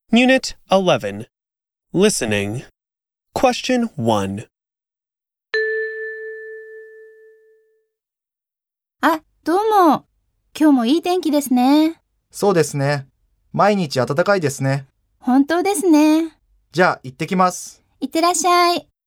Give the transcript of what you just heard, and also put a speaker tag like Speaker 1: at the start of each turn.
Speaker 1: Unit 11. Listening. Question 1.
Speaker 2: あ、どうも。今日もいい天気ですね。
Speaker 3: そうですね。毎日暖かいですね。
Speaker 2: 本当ですね。
Speaker 3: じゃあ行ってきます。
Speaker 2: いってらっしゃい。